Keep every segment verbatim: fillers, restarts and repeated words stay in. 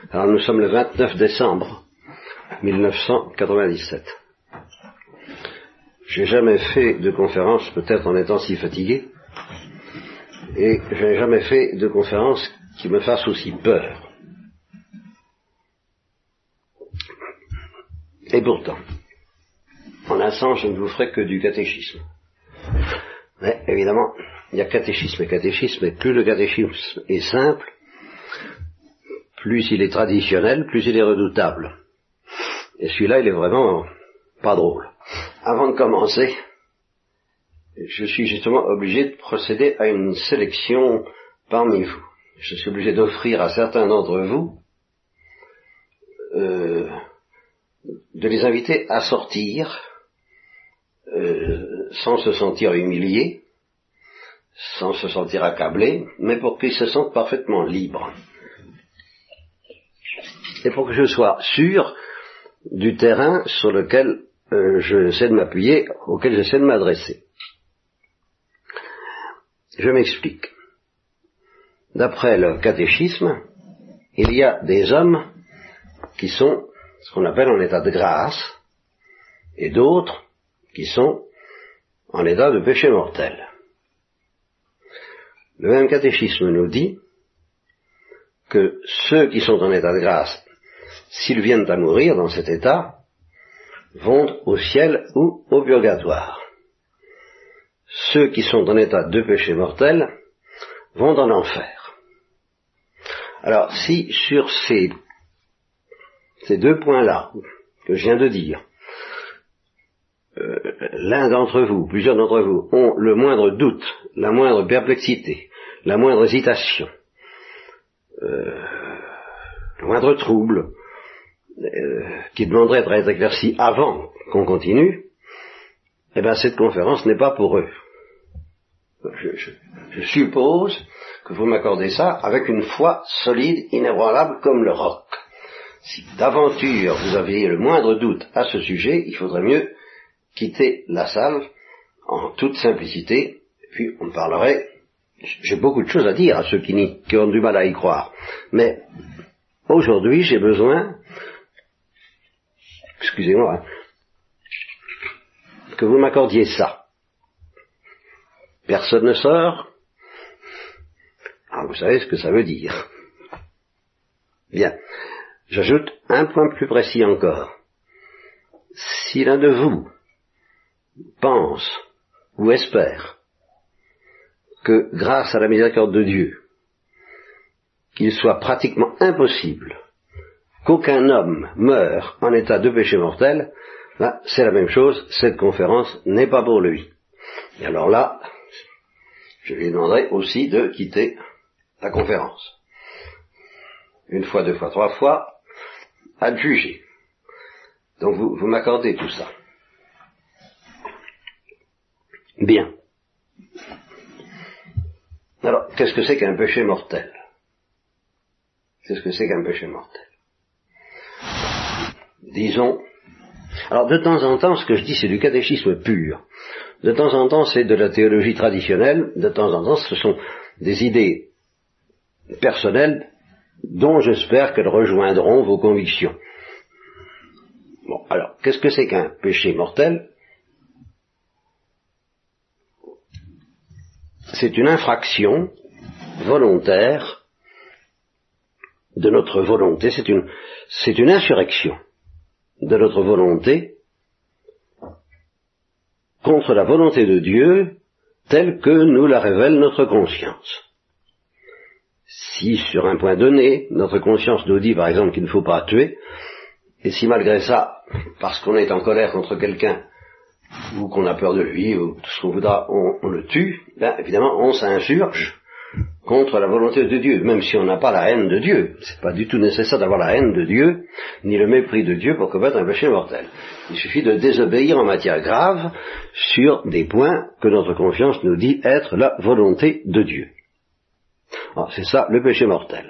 Alors nous sommes le vingt-neuf décembre mille neuf cent quatre-vingt-dix-sept. J'ai jamais fait de conférence, peut-être en étant si fatigué, et je n'ai jamais fait de conférence qui me fasse aussi peur. Et pourtant, en un sens, je ne vous ferai que du catéchisme. Mais évidemment, il y a catéchisme et catéchisme, et plus le catéchisme est simple, plus il est traditionnel, plus il est redoutable. Et celui-là, il est vraiment pas drôle. Avant de commencer, je suis justement obligé de procéder à une sélection parmi vous. Je suis obligé d'offrir à certains d'entre vous euh, de les inviter à sortir euh, sans se sentir humiliés, sans se sentir accablés, mais pour qu'ils se sentent parfaitement libres. Et pour que je sois sûr du terrain sur lequel euh, j'essaie de m'appuyer, auquel j'essaie de m'adresser. Je m'explique. D'après le catéchisme, il y a des hommes qui sont ce qu'on appelle en état de grâce, et d'autres qui sont en état de péché mortel. Le même catéchisme nous dit que ceux qui sont en état de grâce, s'ils viennent à mourir dans cet état, vont au ciel ou au purgatoire. Ceux qui sont en état de péché mortel vont dans l'enfer. Alors, si sur ces, ces deux points-là que je viens de dire, euh, l'un d'entre vous, plusieurs d'entre vous, ont le moindre doute, la moindre perplexité, la moindre hésitation, euh, le moindre trouble, euh, qui demanderait à être éclairci avant qu'on continue, eh bien cette conférence n'est pas pour eux. Je, je, je suppose que vous m'accordez ça avec une foi solide, inébranlable comme le roc. Si d'aventure vous aviez le moindre doute à ce sujet, il faudrait mieux quitter la salle en toute simplicité, puis on parlerait. J'ai beaucoup de choses à dire à ceux qui, n'y, qui ont du mal à y croire, mais aujourd'hui j'ai besoin, excusez-moi, que vous m'accordiez ça. Personne ne sort. Alors vous savez ce que ça veut dire. Bien. J'ajoute un point plus précis encore. Si l'un de vous pense ou espère que grâce à la miséricorde de Dieu, qu'il soit pratiquement impossible qu'aucun homme meure en état de péché mortel, là, c'est la même chose, cette conférence n'est pas pour lui. Et alors là, je lui demanderai aussi de quitter la conférence. Une fois, deux fois, trois fois, à le juger. Donc vous, vous m'accordez tout ça. Bien. Alors, qu'est-ce que c'est qu'un péché mortel? Qu'est-ce que c'est qu'un péché mortel? Disons, alors de temps en temps, ce que je dis, c'est du catéchisme pur. De temps en temps, c'est de la théologie traditionnelle. De temps en temps, ce sont des idées personnelles dont j'espère qu'elles rejoindront vos convictions. Bon, alors, qu'est-ce que c'est qu'un péché mortel? C'est une infraction volontaire de notre volonté, c'est une, c'est une insurrection de notre volonté contre la volonté de Dieu telle que nous la révèle notre conscience. Si sur un point donné, notre conscience nous dit par exemple qu'il ne faut pas tuer, et si malgré ça, parce qu'on est en colère contre quelqu'un, ou qu'on a peur de lui, ou tout ce qu'on voudra, on, on le tue, ben évidemment on s'insurge contre la volonté de Dieu, même si on n'a pas la haine de Dieu. C'est pas du tout nécessaire d'avoir la haine de Dieu, ni le mépris de Dieu pour commettre un péché mortel. Il suffit de désobéir en matière grave sur des points que notre conscience nous dit être la volonté de Dieu. Alors, c'est ça le péché mortel.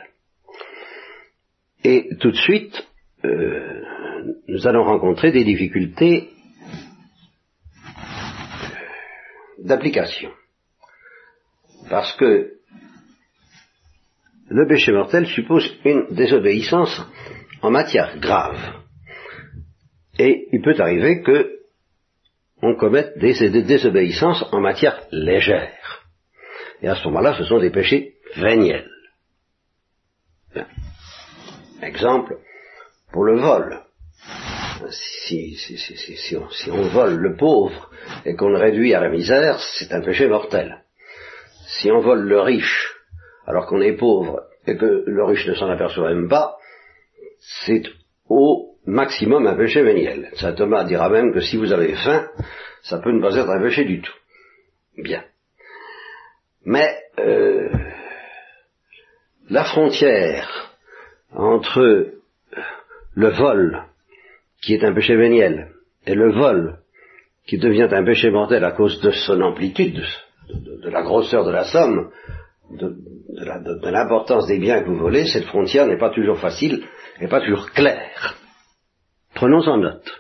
Et tout de suite, euh, nous allons rencontrer des difficultés d'application. Parce que le péché mortel suppose une désobéissance en matière grave. Et il peut arriver que on commette des, des désobéissances en matière légère. Et à ce moment-là, ce sont des péchés véniels. Bien. Exemple, pour le vol. Si, si, si, si, si, on, si on vole le pauvre et qu'on le réduit à la misère, c'est un péché mortel. Si on vole le riche alors qu'on est pauvre et que le riche ne s'en aperçoit même pas, c'est au maximum un péché véniel. Saint Thomas dira même que si vous avez faim, ça peut ne pas être un péché du tout. Bien. Mais euh, la frontière entre le vol, qui est un péché véniel, et le vol, qui devient un péché mortel à cause de son amplitude, de, de, de la grosseur de la somme, de, de, la, de, de l'importance des biens que vous volez, cette frontière n'est pas toujours facile, n'est pas toujours claire. Prenons en note.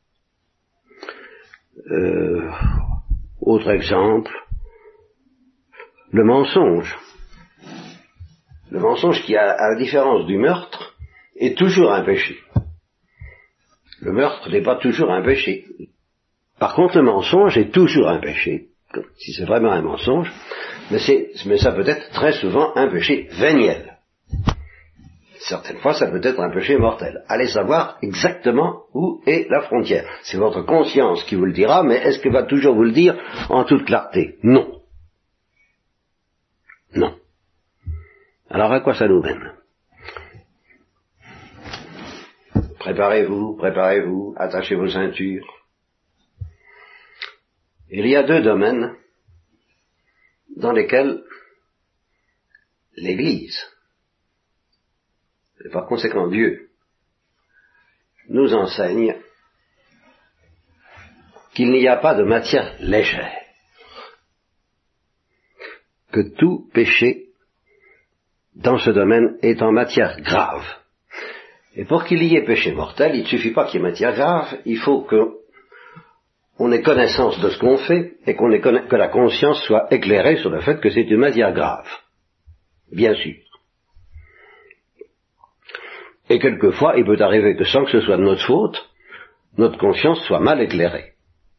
Euh, autre exemple, le mensonge. Le mensonge qui, à, à la différence du meurtre, est toujours un péché. Le meurtre n'est pas toujours un péché. Par contre, le mensonge est toujours un péché, si c'est vraiment un mensonge, mais, c'est, mais ça peut être très souvent un péché véniel. Certaines fois, ça peut être un péché mortel. Allez savoir exactement où est la frontière. C'est votre conscience qui vous le dira, mais est-ce qu'elle va toujours vous le dire en toute clarté? Non. Non. Alors à quoi ça nous mène? Préparez-vous, préparez-vous, attachez vos ceintures. Il y a deux domaines dans lesquels l'Église, et par conséquent Dieu, nous enseigne qu'il n'y a pas de matière légère, que tout péché dans ce domaine est en matière grave. Et pour qu'il y ait péché mortel, il ne suffit pas qu'il y ait matière grave, il faut qu'on ait connaissance de ce qu'on fait et qu'on ait conna- que la conscience soit éclairée sur le fait que c'est une matière grave. Bien sûr. Et quelquefois, il peut arriver que sans que ce soit de notre faute, notre conscience soit mal éclairée.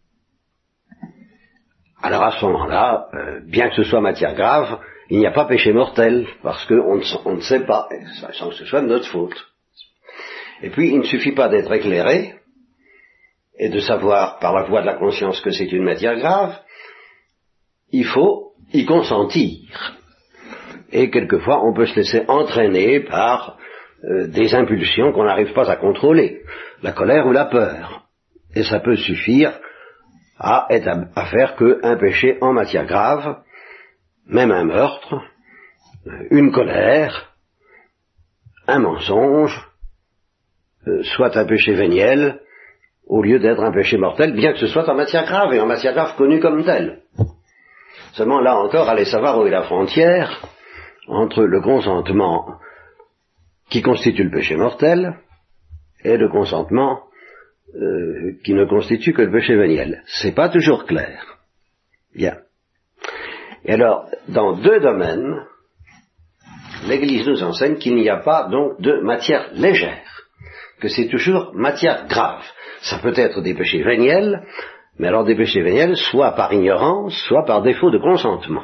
Alors à ce moment-là, euh, bien que ce soit matière grave, il n'y a pas péché mortel, parce qu'on ne, on ne sait pas, sans que ce soit de notre faute. Et puis, il ne suffit pas d'être éclairé, et de savoir par la voie de la conscience que c'est une matière grave, il faut y consentir. Et quelquefois, on peut se laisser entraîner par euh, des impulsions qu'on n'arrive pas à contrôler, la colère ou la peur. Et ça peut suffire à, être à, à faire qu'un péché en matière grave, même un meurtre, une colère, un mensonge, euh, soit un péché véniel, au lieu d'être un péché mortel, bien que ce soit en matière grave, et en matière grave connue comme telle. Seulement, là encore, allez savoir où est la frontière entre le consentement qui constitue le péché mortel et le consentement euh, qui ne constitue que le péché véniel. C'est pas toujours clair. Bien. Et alors, dans deux domaines, l'Église nous enseigne qu'il n'y a pas donc de matière légère, que c'est toujours matière grave. Ça peut être des péchés véniels, mais alors des péchés véniels soit par ignorance, soit par défaut de consentement.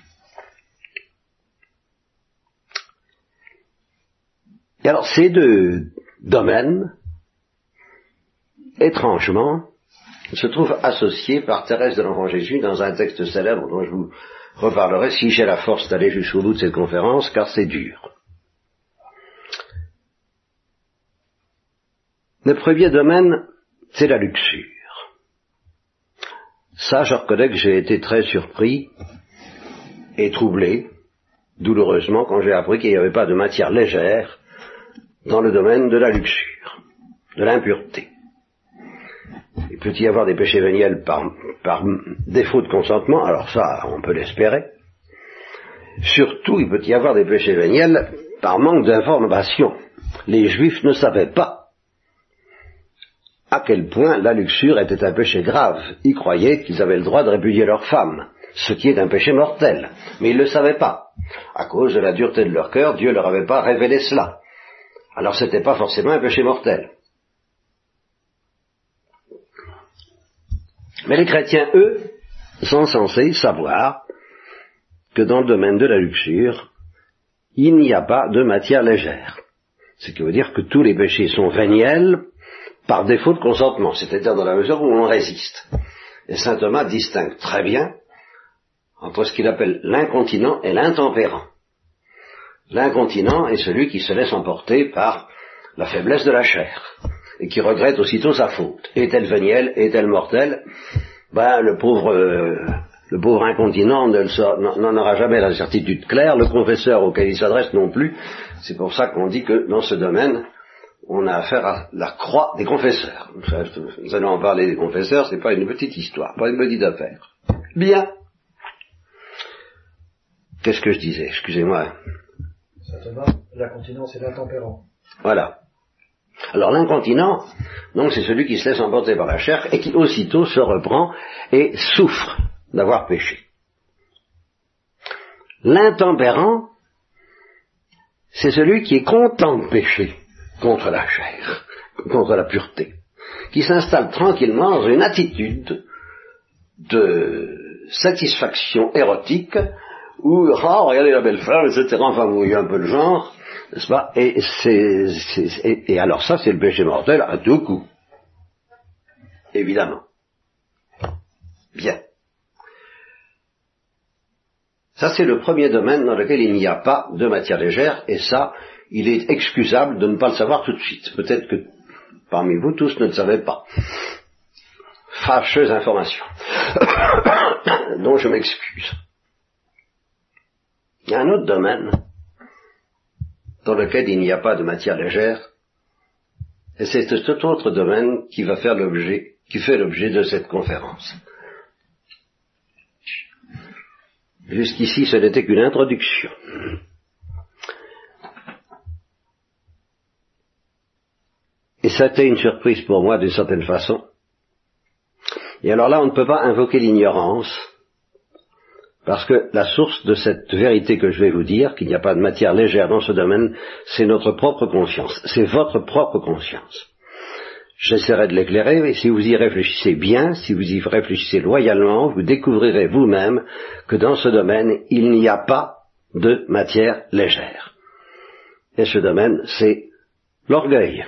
Et alors ces deux domaines, étrangement, se trouvent associés par Thérèse de l'Enfant Jésus dans un texte célèbre dont je vous reparlerai si j'ai la force d'aller jusqu'au bout de cette conférence, car c'est dur. Le premier domaine, c'est la luxure. Ça, je reconnais que j'ai été très surpris et troublé, douloureusement, quand j'ai appris qu'il n'y avait pas de matière légère dans le domaine de la luxure, de l'impureté. Il peut y avoir des péchés véniels par, par défaut de consentement, alors ça, on peut l'espérer. Surtout, il peut y avoir des péchés véniels par manque d'information. Les Juifs ne savaient pas à quel point la luxure était un péché grave. Ils croyaient qu'ils avaient le droit de répudier leurs femmes, ce qui est un péché mortel. Mais ils ne le savaient pas. À cause de la dureté de leur cœur, Dieu ne leur avait pas révélé cela. Alors ce n'était pas forcément un péché mortel. Mais les chrétiens, eux, sont censés savoir que dans le domaine de la luxure, il n'y a pas de matière légère. Ce qui veut dire que tous les péchés sont véniels par défaut de consentement, c'est-à-dire dans la mesure où on résiste. Et saint Thomas distingue très bien entre ce qu'il appelle l'incontinent et l'intempérant. L'incontinent est celui qui se laisse emporter par la faiblesse de la chair et qui regrette aussitôt sa faute. Est-elle vénielle, est-elle mortelle? Ben, le pauvre, euh, le pauvre incontinent ne le sort, n'en aura jamais la certitude claire, le confesseur auquel il s'adresse non plus. C'est pour ça qu'on dit que dans ce domaine, on a affaire à la croix des confesseurs. Nous allons en parler des confesseurs, c'est pas une petite histoire, pas une petite affaire. Bien. Qu'est-ce que je disais? Excusez-moi. Certainement, l'incontinent, c'est l'intempérant. Voilà. Alors l'incontinent, donc c'est celui qui se laisse emporter par la chair et qui aussitôt se reprend et souffre d'avoir péché. L'intempérant, c'est celui qui est content de pécher contre la chair, contre la pureté, qui s'installe tranquillement dans une attitude de satisfaction érotique où, ah, regardez la belle femme, et cetera, enfin, vous voyez un peu le genre, n'est-ce pas, et, c'est, c'est, et, et alors ça, c'est le péché mortel à tout coup. Évidemment. Bien. Ça, c'est le premier domaine dans lequel il n'y a pas de matière légère, et ça, il est excusable de ne pas le savoir tout de suite. Peut-être que parmi vous tous ne le savez pas. Fâcheuse information, dont je m'excuse. Il y a un autre domaine dans lequel il n'y a pas de matière légère, et c'est cet autre domaine qui va faire l'objet, qui fait l'objet de cette conférence. Jusqu'ici, ce n'était qu'une introduction. Et ça a été une surprise pour moi d'une certaine façon. Et alors là, on ne peut pas invoquer l'ignorance, parce que la source de cette vérité que je vais vous dire, qu'il n'y a pas de matière légère dans ce domaine, c'est notre propre conscience, c'est votre propre conscience. J'essaierai de l'éclairer, et si vous y réfléchissez bien, si vous y réfléchissez loyalement, vous découvrirez vous-même que dans ce domaine, il n'y a pas de matière légère. Et ce domaine, c'est l'orgueil.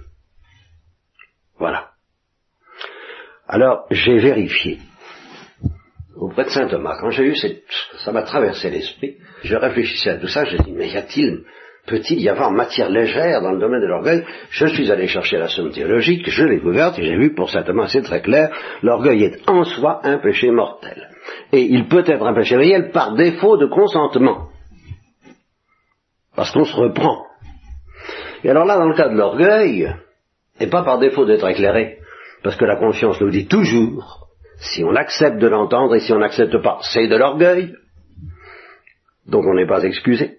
Voilà. Alors, j'ai vérifié auprès de saint Thomas. Quand j'ai eu cette... ça m'a traversé l'esprit, je réfléchissais à tout ça, j'ai dit, mais y a-t-il, peut-il y avoir matière légère dans le domaine de l'orgueil? Je suis allé chercher la somme théologique, je l'ai ouverte et j'ai vu pour saint Thomas, c'est très clair, l'orgueil est en soi un péché mortel. Et il peut être un péché réel par défaut de consentement. Parce qu'on se reprend. Et alors là, dans le cas de l'orgueil, et pas par défaut d'être éclairé, parce que la conscience nous dit toujours, si on accepte de l'entendre et si on n'accepte pas, c'est de l'orgueil, donc on n'est pas excusé,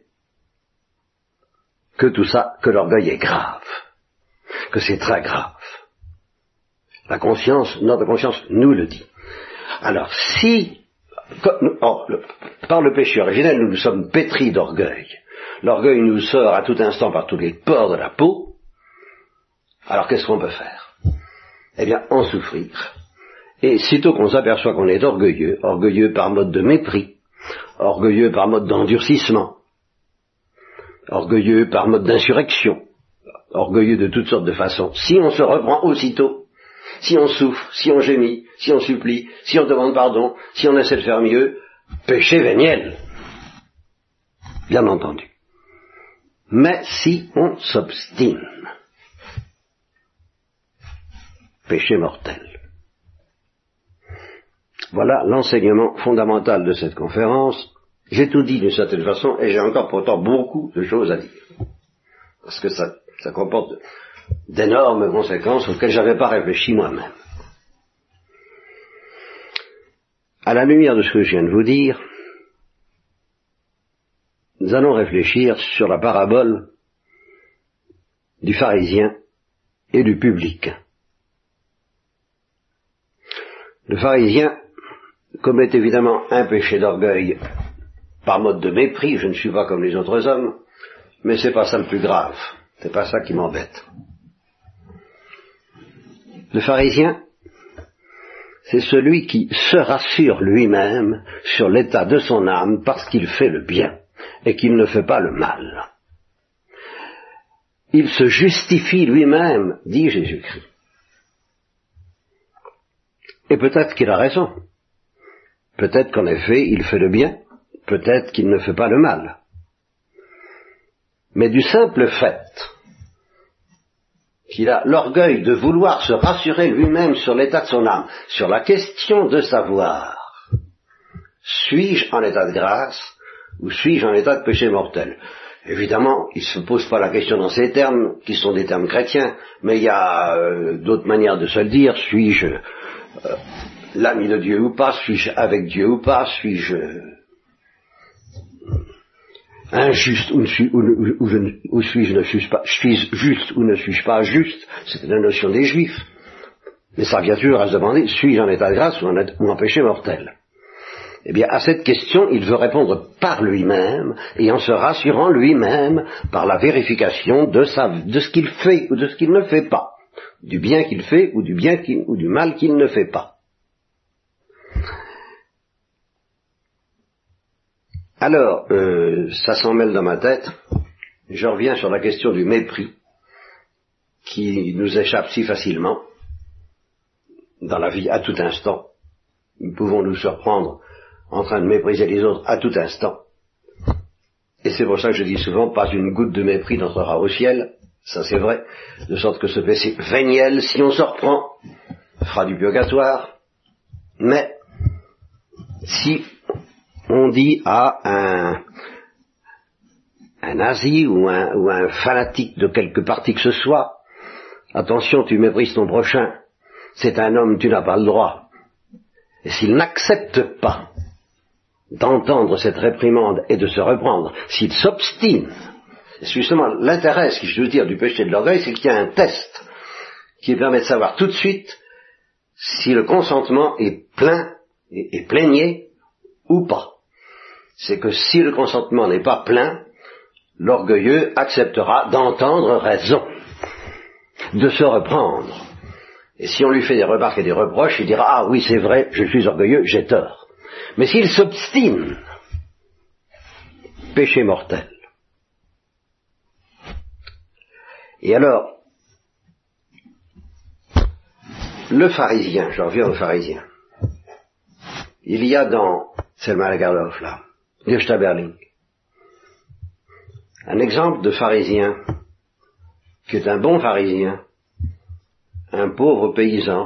que tout ça, que l'orgueil est grave, que c'est très grave. La conscience, notre conscience nous le dit. Alors si, or, le, par le péché originel, nous nous sommes pétris d'orgueil, l'orgueil nous sort à tout instant par tous les pores de la peau, alors qu'est-ce qu'on peut faire? Eh bien, en souffrir. Et sitôt qu'on s'aperçoit qu'on est orgueilleux, orgueilleux par mode de mépris, orgueilleux par mode d'endurcissement, orgueilleux par mode d'insurrection, orgueilleux de toutes sortes de façons, si on se reprend aussitôt, si on souffre, si on gémit, si on supplie, si on demande pardon, si on essaie de faire mieux, péché véniel, bien entendu. Mais si on s'obstine, péché mortel. Voilà l'enseignement fondamental de cette conférence. J'ai tout dit d'une certaine façon et j'ai encore pourtant beaucoup de choses à dire. Parce que ça, ça comporte d'énormes conséquences auxquelles je n'avais pas réfléchi moi-même. À la lumière de ce que je viens de vous dire, nous allons réfléchir sur la parabole du pharisien et du publicain. Le pharisien, commet évidemment un péché d'orgueil par mode de mépris, je ne suis pas comme les autres hommes, mais c'est pas ça le plus grave, c'est pas ça qui m'embête. Le pharisien, c'est celui qui se rassure lui-même sur l'état de son âme parce qu'il fait le bien et qu'il ne fait pas le mal. Il se justifie lui-même, dit Jésus-Christ. Et peut-être qu'il a raison. Peut-être qu'en effet, il fait le bien, peut-être qu'il ne fait pas le mal. Mais du simple fait qu'il a l'orgueil de vouloir se rassurer lui-même sur l'état de son âme, sur la question de savoir, suis-je en état de grâce ou suis-je en état de péché mortel? Évidemment, il ne se pose pas la question dans ces termes, qui sont des termes chrétiens, mais il y a euh, d'autres manières de se le dire. Suis-je euh, l'ami de Dieu ou pas? Suis-je avec Dieu ou pas? Suis-je injuste ou, ne suis, ou, ou, ou, ou, ou suis-je ne suis pas, suis-je juste ou ne suis-je pas juste? C'est la notion des Juifs. Mais ça vient toujours à se demander, suis-je en état de grâce ou en, ou en péché mortel? Eh bien, à cette question, il veut répondre par lui-même, et en se rassurant lui-même par la vérification de, sa, de ce qu'il fait ou de ce qu'il ne fait pas, du bien qu'il fait ou du, bien qu'il, ou du mal qu'il ne fait pas. Alors, euh, ça s'en mêle dans ma tête, je reviens sur la question du mépris, qui nous échappe si facilement dans la vie à tout instant. Nous pouvons nous surprendre en train de mépriser les autres à tout instant. Et c'est pour ça que je dis souvent, pas une goutte de mépris n'entrera au ciel, ça c'est vrai, de sorte que ce péché véniel, si on se reprend, fera du purgatoire, mais si on dit à un, un nazi ou un, ou un fanatique de quelque parti que ce soit, attention, tu méprises ton prochain, c'est un homme, tu n'as pas le droit. Et s'il n'accepte pas d'entendre cette réprimande et de se reprendre, s'il s'obstine, c'est justement l'intérêt, ce que je veux dire, du péché de l'orgueil, c'est qu'il y a un test qui permet de savoir tout de suite si le consentement est plein et, et plénier ou pas. C'est que si le consentement n'est pas plein, l'orgueilleux acceptera d'entendre raison, de se reprendre. Et si on lui fait des remarques et des reproches, il dira « Ah oui, c'est vrai, je suis orgueilleux, j'ai tort ». Mais s'il s'obstine, péché mortel. Et alors, le pharisien, je reviens au pharisien, il y a dans Selma Lagerlof, là, Gösta Berling, un exemple de pharisien, qui est un bon pharisien, un pauvre paysan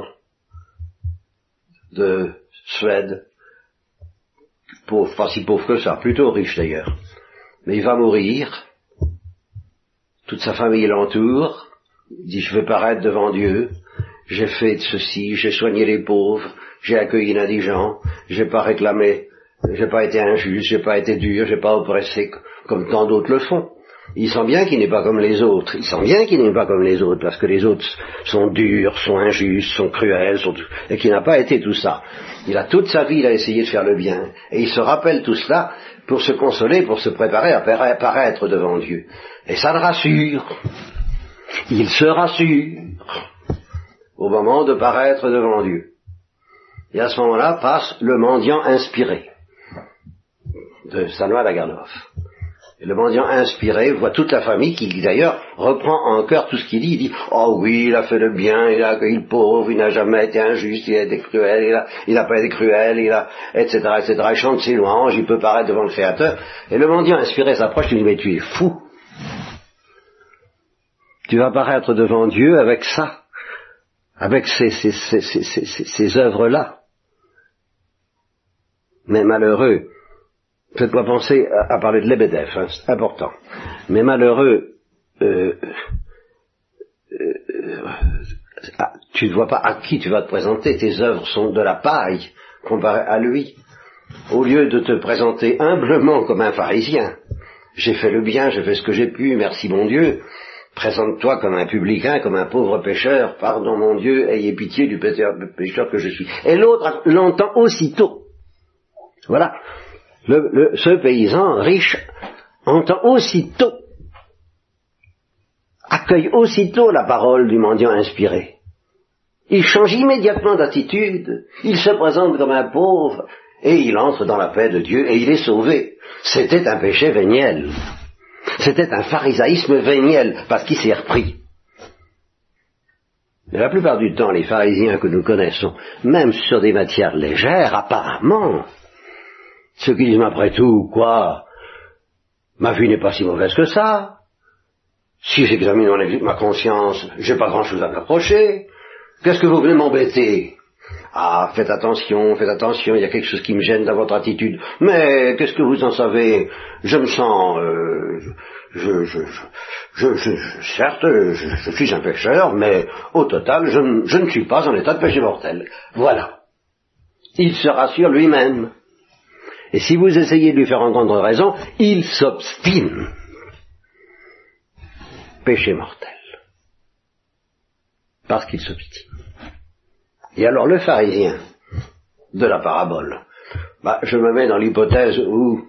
de Suède, pauvre, pas si pauvre que ça, plutôt riche d'ailleurs, mais il va mourir, toute sa famille l'entoure, il dit je vais paraître devant Dieu, j'ai fait ceci, j'ai soigné les pauvres, j'ai accueilli l'indigent, j'ai pas réclamé, j'ai pas été injuste, j'ai pas été dur, j'ai pas oppressé comme tant d'autres le font. Il sent bien qu'il n'est pas comme les autres, il sent bien qu'il n'est pas comme les autres, parce que les autres sont durs, sont injustes, sont cruels, sont... et qu'il n'a pas été tout ça. Il a toute sa vie, il a essayé de faire le bien, et il se rappelle tout cela pour se consoler, pour se préparer à paraître devant Dieu. Et ça le rassure. Il se rassure au moment de paraître devant Dieu. Et à ce moment-là passe le mendiant inspiré de Selma Lagerlof. Et le mendiant inspiré voit toute la famille qui d'ailleurs reprend en cœur tout ce qu'il dit. Il dit « Oh oui, il a fait le bien, il a accueilli le pauvre, il n'a jamais été injuste, il a été cruel, il a, il n'a pas été cruel, il a... et cetera et cetera. Il chante ses louanges, il peut paraître devant le Créateur. » Et le mendiant inspiré s'approche et lui dit « Mais tu es fou. Tu vas paraître devant Dieu avec ça, avec ces, ces, ces, ces, ces, ces, ces œuvres-là. Mais malheureux. » Faites-moi penser à, à parler de Lebedev, hein, c'est important. Mais malheureux, euh, euh, ah, tu ne vois pas à qui tu vas te présenter, tes œuvres sont de la paille comparées à lui. Au lieu de te présenter humblement comme un pharisien, j'ai fait le bien, j'ai fait ce que j'ai pu, merci mon Dieu, présente-toi comme un publicain, comme un pauvre pécheur, pardon mon Dieu, ayez pitié du pécheur que je suis. Et l'autre l'entend aussitôt. Voilà. Le, le, ce paysan riche entend aussitôt, accueille aussitôt la parole du mendiant inspiré. Il change immédiatement d'attitude, il se présente comme un pauvre, et il entre dans la paix de Dieu, et il est sauvé. C'était un péché véniel. C'était un pharisaïsme véniel, parce qu'il s'est repris. Mais la plupart du temps, les pharisiens que nous connaissons, même sur des matières légères, apparemment, ceux qui disent, après tout, quoi, ma vie n'est pas si mauvaise que ça, si j'examine mon, ma conscience, j'ai pas grand-chose à me reprocher, qu'est-ce que vous venez m'embêter? Ah, faites attention, faites attention, il y a quelque chose qui me gêne dans votre attitude. Mais qu'est-ce que vous en savez? Je me sens... Euh, je, je, je, je, je, certes, je, je suis un pécheur, mais au total, je, je ne suis pas en état de péché mortel. Voilà. Il se rassure lui-même. Et si vous essayez de lui faire entendre raison, il s'obstine. Péché mortel. Parce qu'il s'obstine. Et alors le pharisien de la parabole, bah, je me mets dans l'hypothèse où,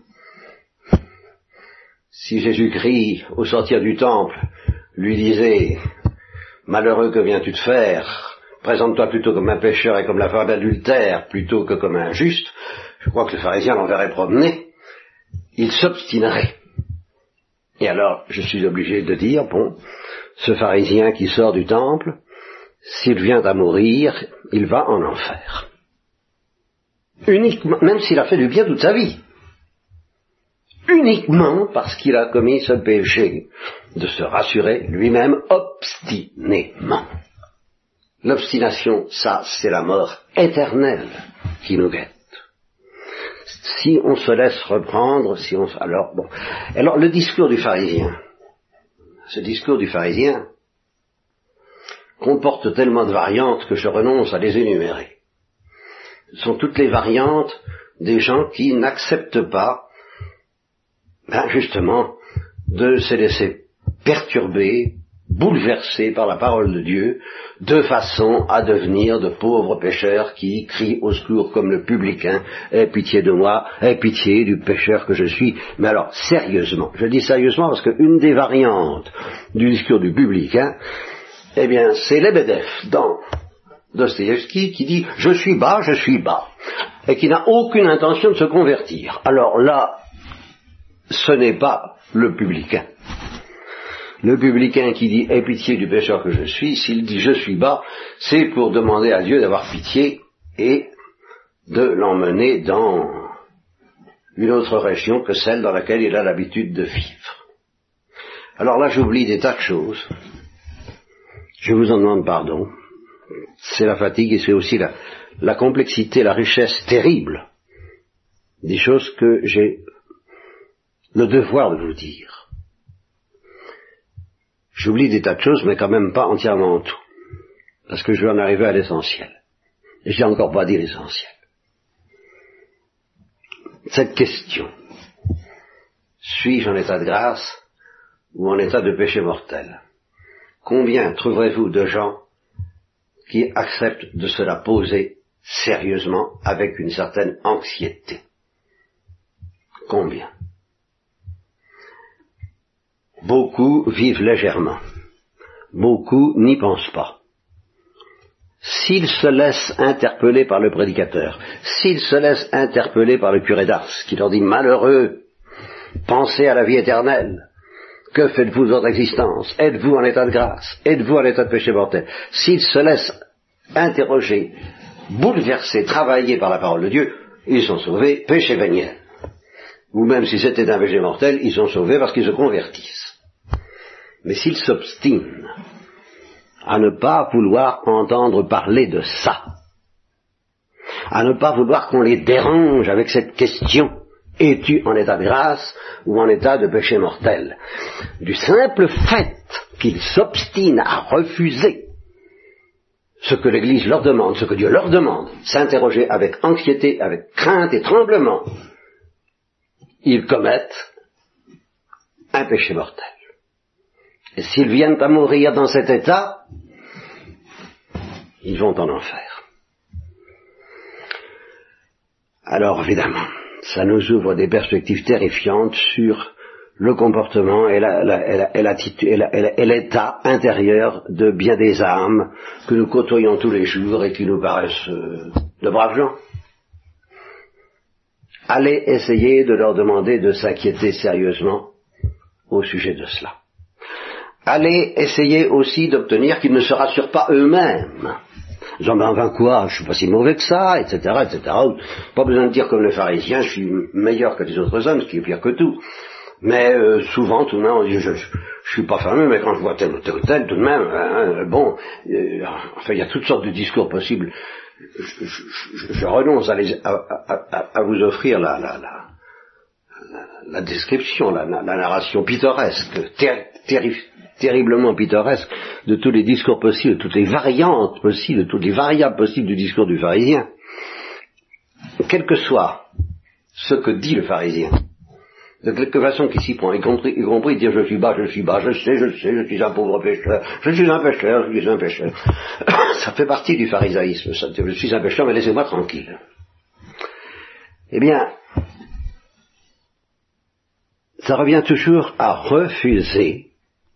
si Jésus-Christ, au sortir du temple, lui disait « Malheureux, que viens-tu de faire? Présente-toi plutôt comme un pécheur et comme la femme adultère, plutôt que comme un juste », je crois que le pharisien l'enverrait promener, il s'obstinerait. Et alors, je suis obligé de dire, bon, ce pharisien qui sort du temple, s'il vient à mourir, il va en enfer. Uniquement, même s'il a fait du bien toute sa vie. Uniquement parce qu'il a commis ce péché de se rassurer lui-même obstinément. L'obstination, ça, c'est la mort éternelle qui nous guette. Si on se laisse reprendre, si on... Alors, bon. Alors, le discours du pharisien, ce discours du pharisien, comporte tellement de variantes que je renonce à les énumérer. Ce sont toutes les variantes des gens qui n'acceptent pas, ben justement, de se laisser perturber, bouleverser par la parole de Dieu, de façon à devenir de pauvres pécheurs qui crient au secours comme le publicain, « Aie pitié de moi, aie pitié du pécheur que je suis ». Mais alors, sérieusement, je dis sérieusement parce qu'une des variantes du discours du publicain, eh bien, c'est Lebedev dans Dostoïevski qui dit « je suis bas, je suis bas » et qui n'a aucune intention de se convertir. Alors là, ce n'est pas le publicain. Le publicain qui dit « aie pitié du pécheur que je suis », s'il dit « je suis bas », c'est pour demander à Dieu d'avoir pitié et de l'emmener dans une autre région que celle dans laquelle il a l'habitude de vivre. Alors là, j'oublie des tas de choses. Je vous en demande pardon. C'est la fatigue et c'est aussi la, la complexité, la richesse terrible des choses que j'ai le devoir de vous dire. J'oublie des tas de choses, mais quand même pas entièrement tout. Parce que je vais en arriver à l'essentiel. Et je n'ai encore pas dit l'essentiel. Cette question, suis-je en état de grâce ou en état de péché mortel? Combien trouverez-vous de gens qui acceptent de se la poser sérieusement avec une certaine anxiété? Combien? Beaucoup vivent légèrement. Beaucoup n'y pensent pas. S'ils se laissent interpeller par le prédicateur, s'ils se laissent interpeller par le curé d'Ars, qui leur dit « Malheureux, pensez à la vie éternelle. Que faites-vous de votre existence? Êtes-vous en état de grâce? Êtes-vous en état de péché mortel ?» S'ils se laissent interroger, bouleverser, travailler par la parole de Dieu, ils sont sauvés, péché véniel. Ou même si c'était un péché mortel, ils sont sauvés parce qu'ils se convertissent. Mais s'ils s'obstinent à ne pas vouloir entendre parler de ça, à ne pas vouloir qu'on les dérange avec cette question, es-tu en état de grâce ou en état de péché mortel? Du simple fait qu'ils s'obstinent à refuser ce que l'Église leur demande, ce que Dieu leur demande, s'interroger avec anxiété, avec crainte et tremblement, ils commettent un péché mortel. Et s'ils viennent à mourir dans cet état, ils vont en enfer. Alors évidemment, ça nous ouvre des perspectives terrifiantes sur le comportement et, la, la, et, la, et, l'attitude, et, la, et, la, et l'état intérieur de bien des âmes que nous côtoyons tous les jours et qui nous paraissent euh, de braves gens. Allez essayer de leur demander de s'inquiéter sérieusement au sujet de cela. Allez essayer aussi d'obtenir qu'ils ne se rassurent pas eux-mêmes. Disant, ben enfin quoi, je suis pas si mauvais que ça, et cetera, et cetera. Pas besoin de dire comme les pharisiens, je suis meilleur que les autres hommes, ce qui est pire que tout. Mais euh, souvent, tout de même, on dit, je, je, je suis pas fameux, mais quand je vois tel ou tel ou tel, tout de même, hein, bon, euh, enfin, il y a toutes sortes de discours possibles. Je, je, je, je renonce à, les, à, à, à vous offrir la, la, la, la, la description, la, la, la narration pittoresque, ter, terri, terriblement pittoresque de tous les discours possibles, de toutes les variantes possibles, de toutes les variables possibles du discours du pharisien. Quel que soit ce que dit le pharisien, de quelque façon qu'il s'y prend, y compris, y compris dire je suis bas, je suis bas, je sais, je sais, je suis un pauvre pécheur, je suis un pécheur, je suis un pécheur. Ça fait partie du pharisaïsme, ça, je suis un pécheur, mais laissez-moi tranquille. Eh bien, ça revient toujours à refuser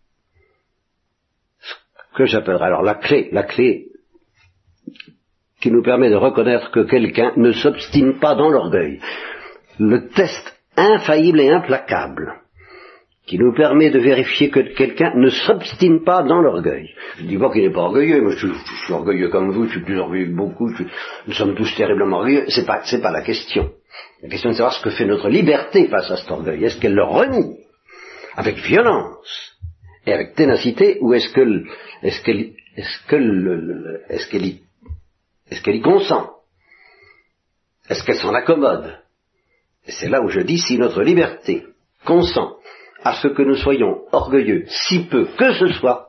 ce que j'appellerais alors la clé, la clé qui nous permet de reconnaître que quelqu'un ne s'obstine pas dans l'orgueil. Le test infaillible et implacable, qui nous permet de vérifier que quelqu'un ne s'obstine pas dans l'orgueil. Je ne dis pas qu'il n'est pas orgueilleux, moi je suis, je suis orgueilleux comme vous, je suis plus orgueilleux que beaucoup, je, nous sommes tous terriblement orgueilleux, c'est pas, c'est pas la question. La question est de savoir ce que fait notre liberté face à cet orgueil. Est-ce qu'elle le renie avec violence et avec ténacité, ou est-ce que, est-ce qu'elle, est-ce que le, est-ce qu'elle y, est-ce qu'elle y consent? Est-ce qu'elle s'en accommode? Et c'est là où je dis, si notre liberté consent à ce que nous soyons orgueilleux, si peu que ce soit,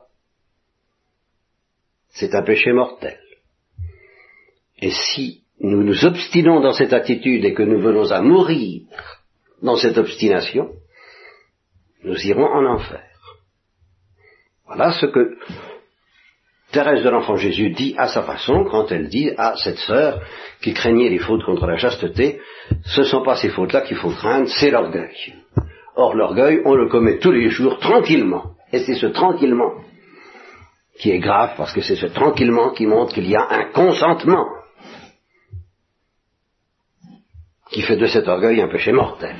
c'est un péché mortel. Et si nous nous obstinons dans cette attitude et que nous venons à mourir dans cette obstination, nous irons en enfer. Voilà ce que Thérèse de l'Enfant Jésus dit à sa façon quand elle dit à cette sœur qui craignait les fautes contre la chasteté, ce ne sont pas ces fautes-là qu'il faut craindre, c'est l'orgueil. Or l'orgueil, on le commet tous les jours tranquillement. Et c'est ce tranquillement qui est grave, parce que c'est ce tranquillement qui montre qu'il y a un consentement qui fait de cet orgueil un péché mortel.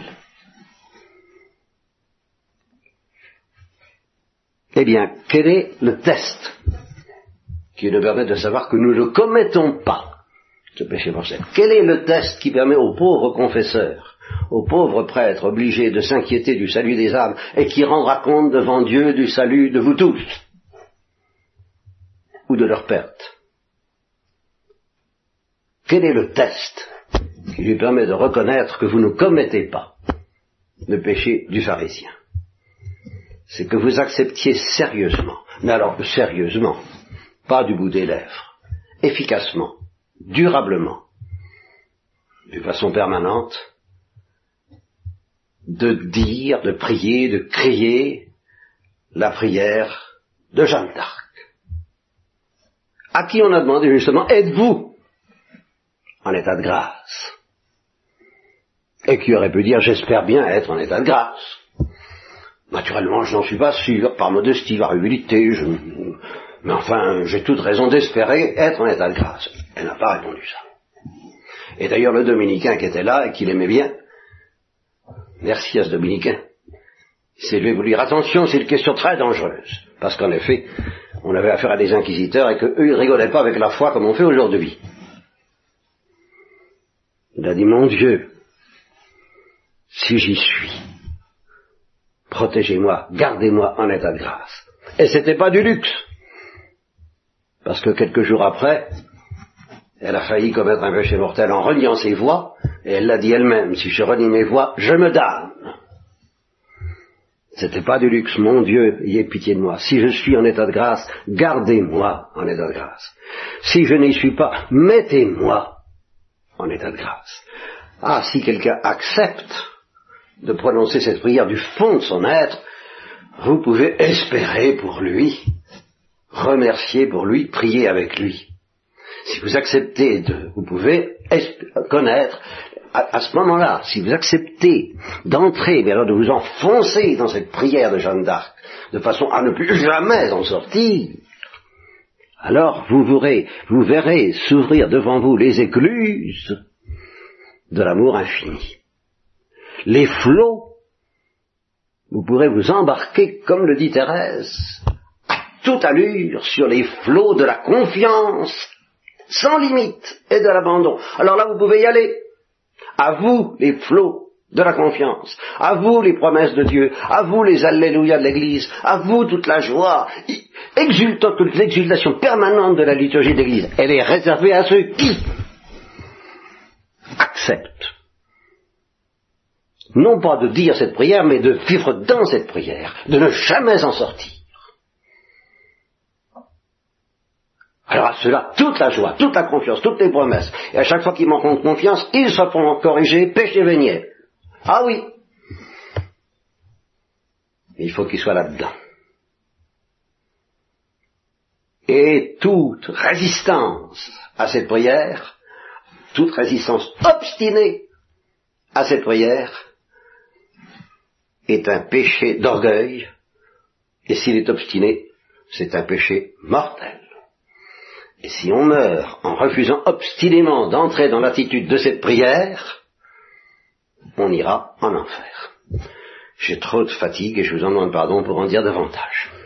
Eh bien, quel est le test qui nous permet de savoir que nous ne commettons pas ce péché mortel? Quel est le test qui permet aux pauvres confesseurs, aux pauvres prêtres obligés de s'inquiéter du salut des âmes et qui rendra compte devant Dieu du salut de vous tous ou de leur perte? Quel est le test qui lui permet de reconnaître que vous ne commettez pas le péché du pharisien? C'est que vous acceptiez sérieusement, mais alors sérieusement, pas du bout des lèvres, efficacement, durablement, de façon permanente, de dire, de prier, de crier la prière de Jeanne d'Arc, à qui on a demandé justement, êtes-vous en état de grâce? Et qui aurait pu dire, j'espère bien être en état de grâce. Naturellement, je n'en suis pas sûr, par modestie, par humilité, je... mais enfin, j'ai toute raison d'espérer être en état de grâce. Elle n'a pas répondu ça. Et d'ailleurs, le dominicain qui était là et qui l'aimait bien, merci à ce dominicain, il s'est levé pour dire, attention, c'est une question très dangereuse. Parce qu'en effet, on avait affaire à des inquisiteurs et qu'eux, ils rigolaient pas avec la foi comme on fait aujourd'hui. Il a dit, mon Dieu, si j'y suis, protégez-moi, gardez-moi en état de grâce. Et c'était pas du luxe. Parce que quelques jours après, elle a failli commettre un péché mortel en reniant ses voies, et elle l'a dit elle-même, si je renie mes voies, je me damne. C'était pas du luxe, mon Dieu, ayez pitié de moi. Si je suis en état de grâce, gardez-moi en état de grâce. Si je n'y suis pas, mettez-moi en état de grâce. Ah, si quelqu'un accepte de prononcer cette prière du fond de son être, vous pouvez espérer pour lui, remercier pour lui, prier avec lui. Si vous acceptez de, vous pouvez connaître, à, à ce moment-là, si vous acceptez d'entrer, mais alors de vous enfoncer dans cette prière de Jeanne d'Arc, de façon à ne plus jamais en sortir, alors vous verrez, vous verrez s'ouvrir devant vous les écluses de l'amour infini. Les flots, vous pourrez vous embarquer, comme le dit Thérèse, à toute allure sur les flots de la confiance sans limite et de l'abandon. Alors là, vous pouvez y aller. À vous les flots de la confiance, à vous les promesses de Dieu, à vous les alléluia de l'Église, à vous toute la joie, exultant, toute l'exultation permanente de la liturgie de l'Église. Elle est réservée à ceux qui acceptent, non pas de dire cette prière, mais de vivre dans cette prière, de ne jamais en sortir. Alors à cela, toute la joie, toute la confiance, toutes les promesses, et à chaque fois qu'ils manquent de confiance, ils se font corriger, péché véniel. Ah oui, il faut qu'ils soient là-dedans. Et toute résistance à cette prière, toute résistance obstinée à cette prière, est un péché d'orgueil, et s'il est obstiné, c'est un péché mortel. Et si on meurt en refusant obstinément d'entrer dans l'attitude de cette prière, on ira en enfer. J'ai trop de fatigue et je vous en demande pardon pour en dire davantage.